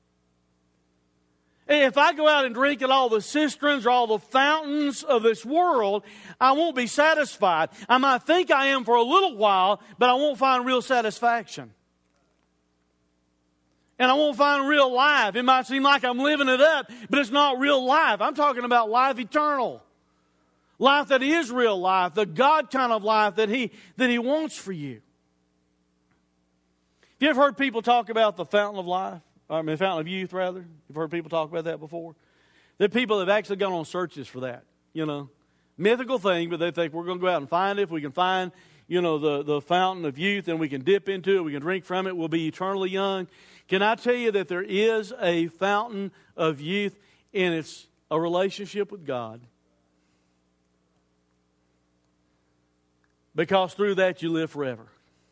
S2: If I go out and drink at all the cisterns or all the fountains of this world, I won't be satisfied. I might think I am for a little while, but I won't find real satisfaction. And I won't find real life. It might seem like I'm living it up, but it's not real life. I'm talking about life eternal. Life that is real life, the God kind of life that He wants for you. Have you ever heard people talk about the fountain of life? The fountain of youth, rather. You've heard people talk about that before? There are people that have actually gone on searches for that, Mythical thing, but they think we're going to go out and find it. If we can find, the fountain of youth and we can dip into it, we can drink from it, we'll be eternally young. Can I tell you that there is a fountain of youth, and it's a relationship with God? Because through that you live forever.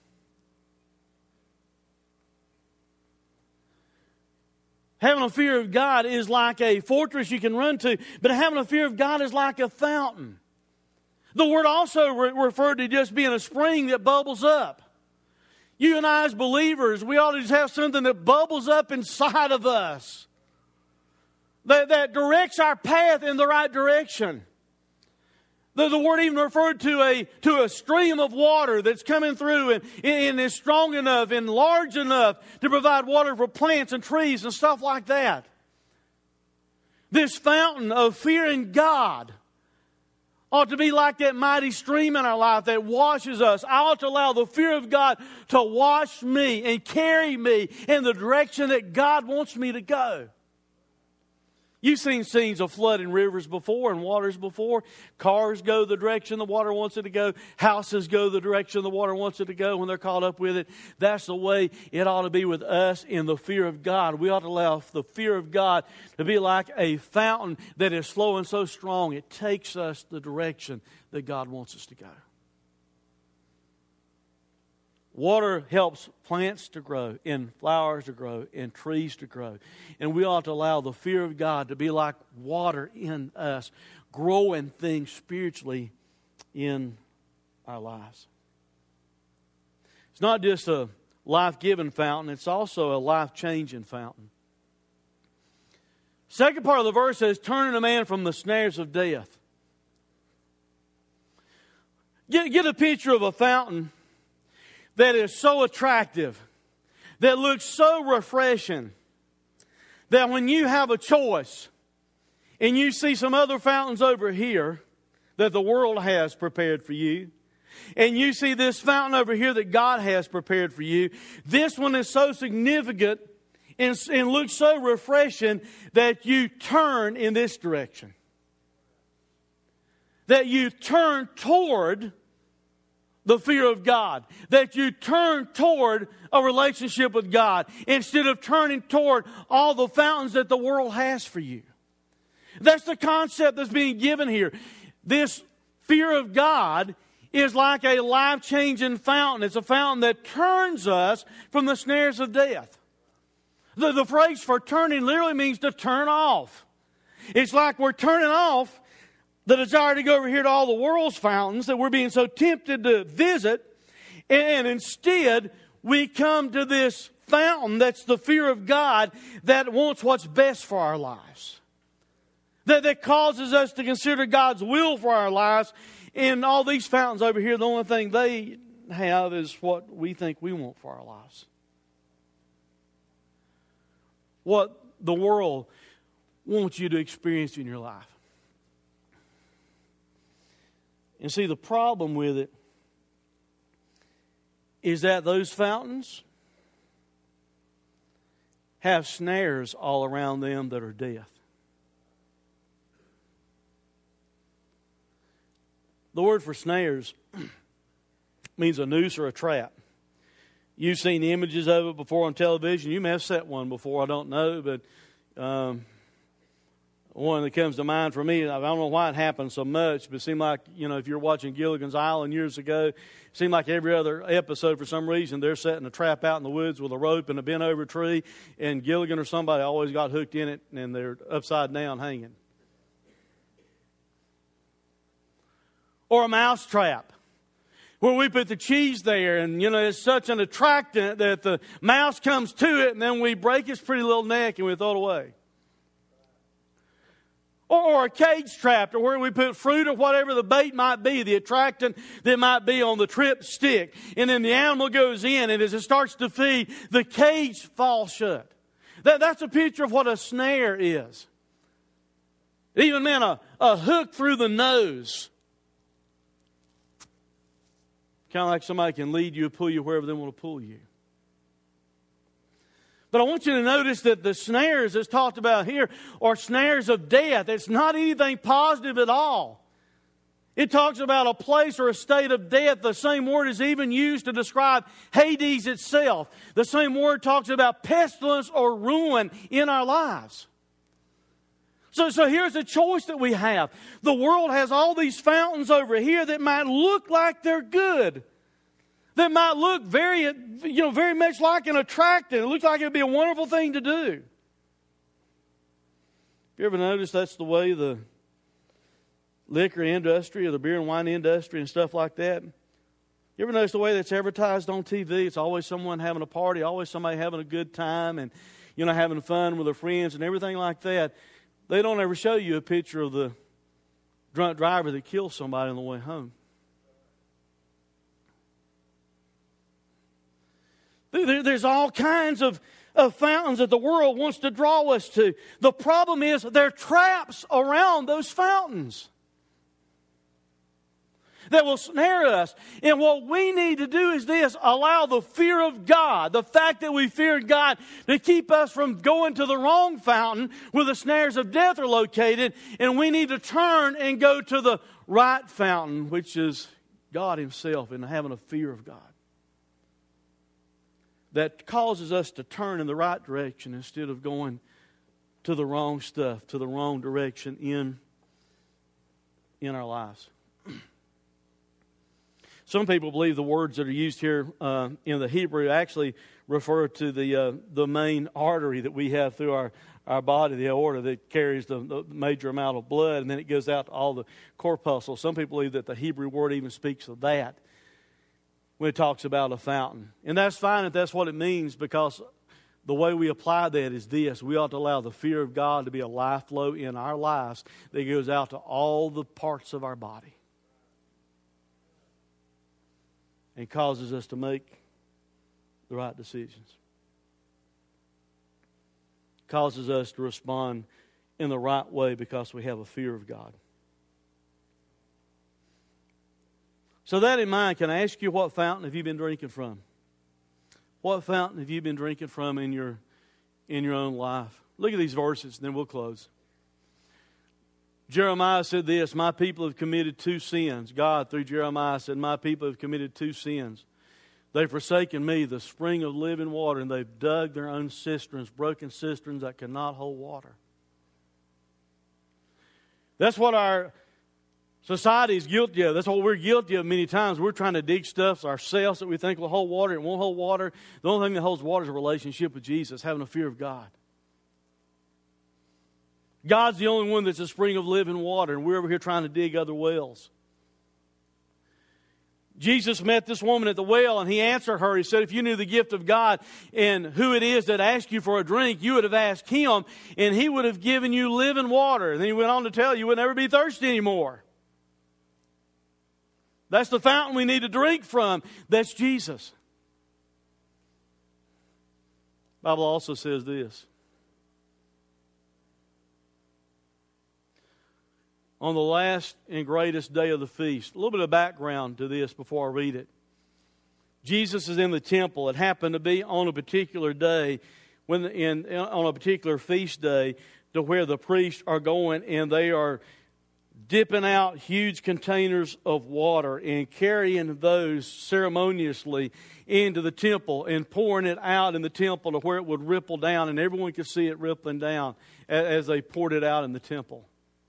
S2: Having a fear of God is like a fortress you can run to, but having a fear of God is like a fountain. The word also referred to just being a spring that bubbles up. You and I as believers, we ought to just have something that bubbles up inside of us. That directs our path in the right direction. The word even referred to a stream of water that's coming through and is strong enough and large enough to provide water for plants and trees and stuff like that. This fountain of fearing God ought to be like that mighty stream in our life that washes us. I ought to allow the fear of God to wash me and carry me in the direction that God wants me to go. You've seen scenes of flooding rivers before and waters before. Cars go the direction the water wants it to go. Houses go the direction the water wants it to go when they're caught up with it. That's the way it ought to be with us in the fear of God. We ought to allow the fear of God to be like a fountain that is flowing so strong it takes us the direction that God wants us to go. Water helps plants to grow, and flowers to grow, and trees to grow. And we ought to allow the fear of God to be like water in us, growing things spiritually in our lives. It's not just a life-giving fountain, it's also a life-changing fountain. Second part of the verse says, turning a man from the snares of death. Get a picture of a fountain that is so attractive, that looks so refreshing, that when you have a choice, and you see some other fountains over here that the world has prepared for you, and you see this fountain over here that God has prepared for you, this one is so significant and looks so refreshing that you turn in this direction. That you turn toward the fear of God. That you turn toward a relationship with God instead of turning toward all the fountains that the world has for you. That's the concept that's being given here. This fear of God is like a life-changing fountain. It's a fountain that turns us from the snares of death. The phrase for turning literally means to turn off. It's like we're turning off the desire to go over here to all the world's fountains that we're being so tempted to visit, and instead we come to this fountain that's the fear of God that wants what's best for our lives. That causes us to consider God's will for our lives. And all these fountains over here, the only thing they have is what we think we want for our lives. What the world wants you to experience in your life. And see, the problem with it is that those fountains have snares all around them that are death. The word for snares means a noose or a trap. You've seen images of it before on television. You may have set one before, I don't know, but one that comes to mind for me, I don't know why it happens so much, but it seemed like, if you're watching Gilligan's Island years ago, it seemed like every other episode, for some reason, they're setting a trap out in the woods with a rope and a bent-over tree, and Gilligan or somebody always got hooked in it, and they're upside down hanging. Or a mouse trap, where we put the cheese there, and, it's such an attractant that the mouse comes to it, and then we break its pretty little neck and we throw it away. Or a cage trap, or where we put fruit or whatever the bait might be, the attractant that might be on the trip stick. And then the animal goes in, and as it starts to feed, the cage falls shut. That's a picture of what a snare is. It even meant a hook through the nose. Kind of like somebody can lead you or pull you wherever they want to pull you. But I want you to notice that the snares that's talked about here are snares of death. It's not anything positive at all. It talks about a place or a state of death. The same word is even used to describe Hades itself. The same word talks about pestilence or ruin in our lives. So here's a choice that we have. The world has all these fountains over here that might look like they're good. That might look very much like an attractant. It looks like it would be a wonderful thing to do. You ever notice that's the way the liquor industry or the beer and wine industry and stuff like that? You ever notice the way that's advertised on TV? It's always someone having a party, always somebody having a good time and, having fun with their friends and everything like that. They don't ever show you a picture of the drunk driver that kills somebody on the way home. There's all kinds of fountains that the world wants to draw us to. The problem is there are traps around those fountains that will snare us. And what we need to do is this: allow the fear of God, the fact that we fear God, to keep us from going to the wrong fountain where the snares of death are located. And we need to turn and go to the right fountain, which is God Himself, and having a fear of God. That causes us to turn in the right direction instead of going to the wrong stuff, to the wrong direction in our lives. Some people believe the words that are used here in the Hebrew actually refer to the main artery that we have through our body, the aorta, that carries the major amount of blood, and then it goes out to all the corpuscles. Some people believe that the Hebrew word even speaks of that when it talks about a fountain. And that's fine if that's what it means, because the way we apply that is this: we ought to allow the fear of God to be a life flow in our lives that goes out to all the parts of our body and causes us to make the right decisions. Causes us to respond in the right way because we have a fear of God. So that in mind, can I ask you, what fountain have you been drinking from? What fountain have you been drinking from in your own life? Look at these verses, and then we'll close. Jeremiah said this, my people have committed two sins. God, through Jeremiah, said, my people have committed two sins. They've forsaken me, the spring of living water, and they've dug their own cisterns, broken cisterns that cannot hold water. That's what our society is guilty of. That's what we're guilty of many times. We're trying to dig stuff ourselves that we think will hold water. It won't hold water. The only thing that holds water is a relationship with Jesus, having a fear of God. God's the only one that's a spring of living water, and we're over here trying to dig other wells. Jesus met this woman at the well, and He answered her. He said, if you knew the gift of God and who it is that asked you for a drink, you would have asked Him, and He would have given you living water. And then He went on to tell you would never be thirsty anymore. That's the fountain we need to drink from. That's Jesus. The Bible also says this. On the last and greatest day of the feast. A little bit of background to this before I read it. Jesus is in the temple. It happened to be on a particular day, on a particular feast day, to where the priests are going and they are dipping out huge containers of water and carrying those ceremoniously into the temple and pouring it out in the temple to where it would ripple down, and everyone could see it rippling down as they poured it out in the temple.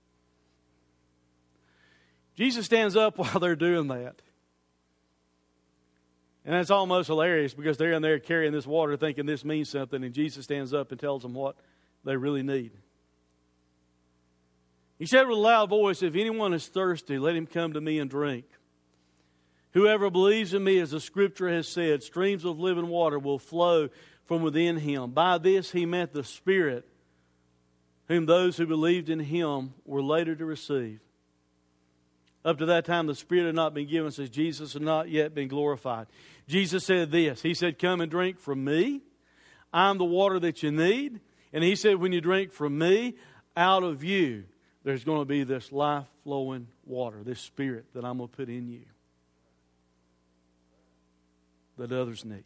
S2: Jesus stands up while they're doing that. And it's almost hilarious because they're in there carrying this water thinking this means something, and Jesus stands up and tells them what they really need. He said with a loud voice, if anyone is thirsty, let him come to me and drink. Whoever believes in me, as the Scripture has said, streams of living water will flow from within him. By this he meant the Spirit, whom those who believed in Him were later to receive. Up to that time, the Spirit had not been given, since Jesus had not yet been glorified. Jesus said this. He said, come and drink from me. I'm the water that you need. And He said, when you drink from me, out of you, there's going to be this life-flowing water, this Spirit that I'm going to put in you that others need.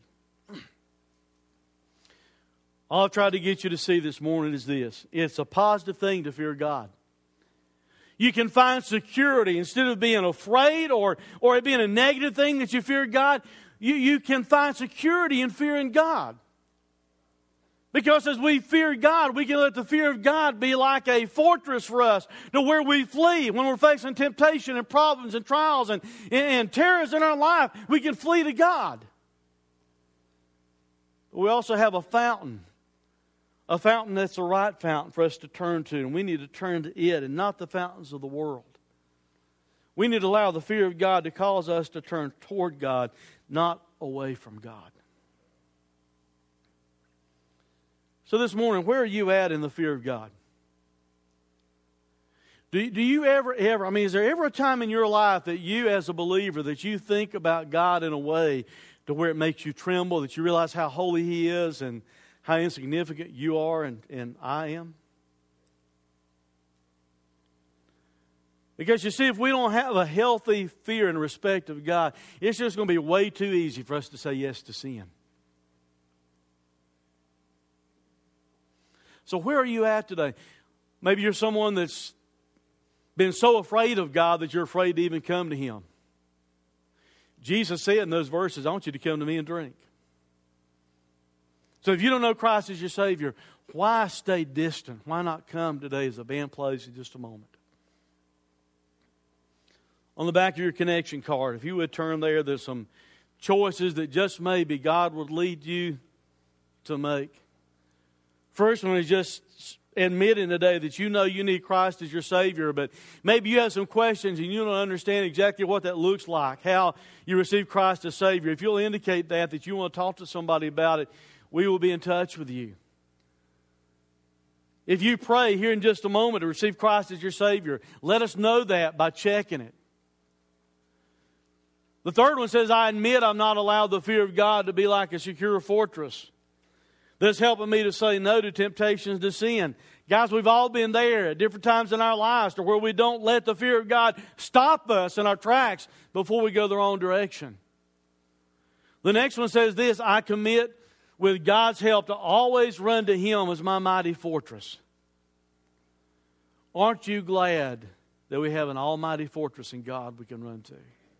S2: All I've tried to get you to see this morning is this. It's a positive thing to fear God. You can find security instead of being afraid or it being a negative thing that you fear God. You can find security in fearing God. Because as we fear God, we can let the fear of God be like a fortress for us to where we flee. When we're facing temptation and problems and trials and terrors in our life, we can flee to God. But we also have a fountain that's the right fountain for us to turn to. And we need to turn to it and not the fountains of the world. We need to allow the fear of God to cause us to turn toward God, not away from God. So this morning, where are you at in the fear of God? Do you ever, is there ever a time in your life that you as a believer, that you think about God in a way to where it makes you tremble, that you realize how holy He is and how insignificant you are and I am? Because you see, if we don't have a healthy fear and respect of God, it's just going to be way too easy for us to say yes to sin. So where are you at today? Maybe you're someone that's been so afraid of God that you're afraid to even come to Him. Jesus said in those verses, I want you to come to me and drink. So if you don't know Christ as your Savior, why stay distant? Why not come today as the band plays in just a moment? On the back of your connection card, if you would turn there, there's some choices that just maybe God would lead you to make. First one is just admitting today that you know you need Christ as your Savior, but maybe you have some questions and you don't understand exactly what that looks like, how you receive Christ as Savior. If you'll indicate that you want to talk to somebody about it, we will be in touch with you. If you pray here in just a moment to receive Christ as your Savior, let us know that by checking it. The third one says, I admit I'm not allowed the fear of God to be like a secure fortress. That's helping me to say no to temptations to sin. Guys, we've all been there at different times in our lives to where we don't let the fear of God stop us in our tracks before we go the wrong direction. The next one says this: I commit with God's help to always run to Him as my mighty fortress. Aren't you glad that we have an almighty fortress in God we can run to?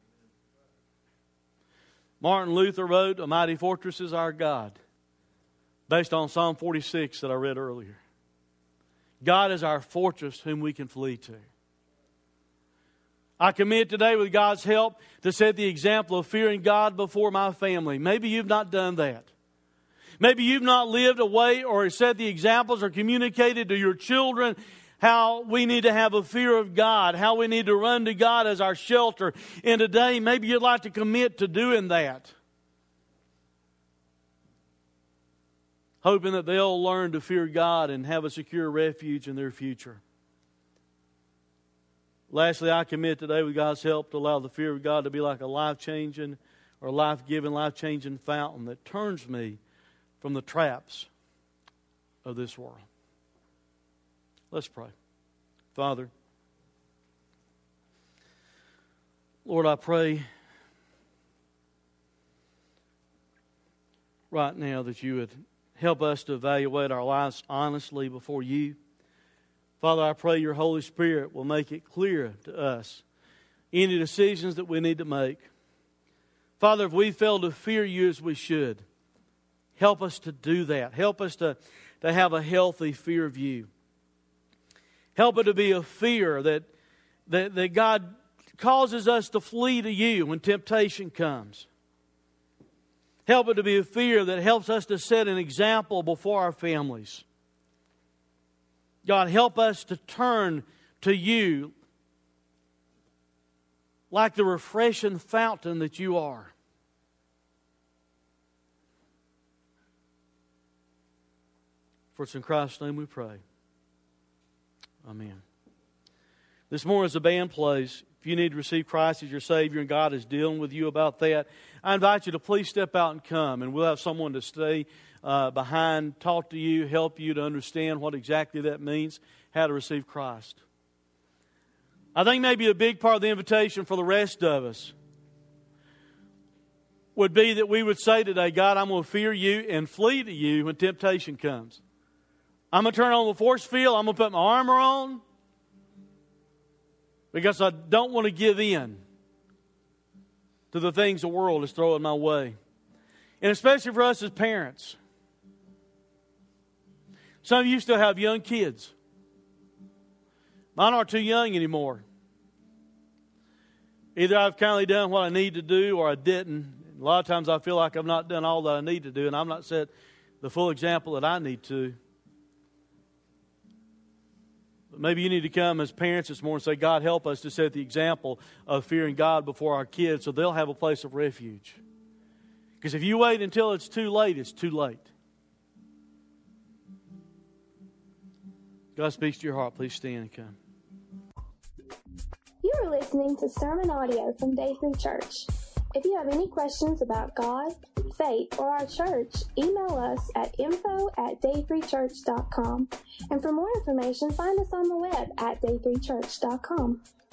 S2: Martin Luther wrote, "A mighty fortress is our God," based on Psalm 46 that I read earlier. God is our fortress whom we can flee to. I commit today with God's help to set the example of fearing God before my family. Maybe you've not done that. Maybe you've not lived a way or set the examples or communicated to your children how we need to have a fear of God, how we need to run to God as our shelter. And today, maybe you'd like to commit to doing that, hoping that they'll learn to fear God and have a secure refuge in their future. Lastly, I commit today with God's help to allow the fear of God to be like a life-changing or life-giving, life-changing fountain that turns me from the traps of this world. Let's pray. Father, Lord, I pray right now that you would help us to evaluate our lives honestly before you. Father, I pray your Holy Spirit will make it clear to us any decisions that we need to make. Father, if we fail to fear you as we should, help us to do that. Help us to have a healthy fear of you. Help it to be a fear that God causes us to flee to you when temptation comes. Help it to be a fear that helps us to set an example before our families. God, help us to turn to you like the refreshing fountain that you are. For it's in Christ's name we pray. Amen. This morning as the band plays, if you need to receive Christ as your Savior and God is dealing with you about that, I invite you to please step out and come, and we'll have someone to stay behind, talk to you, help you to understand what exactly that means, how to receive Christ. I think maybe a big part of the invitation for the rest of us would be that we would say today, God, I'm going to fear you and flee to you when temptation comes. I'm going to turn on the force field. I'm going to put my armor on because I don't want to give in to the things the world is throwing my way. And especially for us as parents. Some of you still have young kids. Mine aren't too young anymore. Either I've kindly done what I need to do or I didn't. A lot of times I feel like I've not done all that I need to do and I've not set the full example that I need to. But maybe you need to come as parents this morning and say, God, help us to set the example of fearing God before our kids so they'll have a place of refuge. Because if you wait until it's too late, it's too late. God speaks to your heart. Please stand and come.
S1: You are listening to sermon audio from Day 3 Church. If you have any questions about God, faith, or our church, email us at info@day3church.com. And for more information, find us on the web at day3church.com.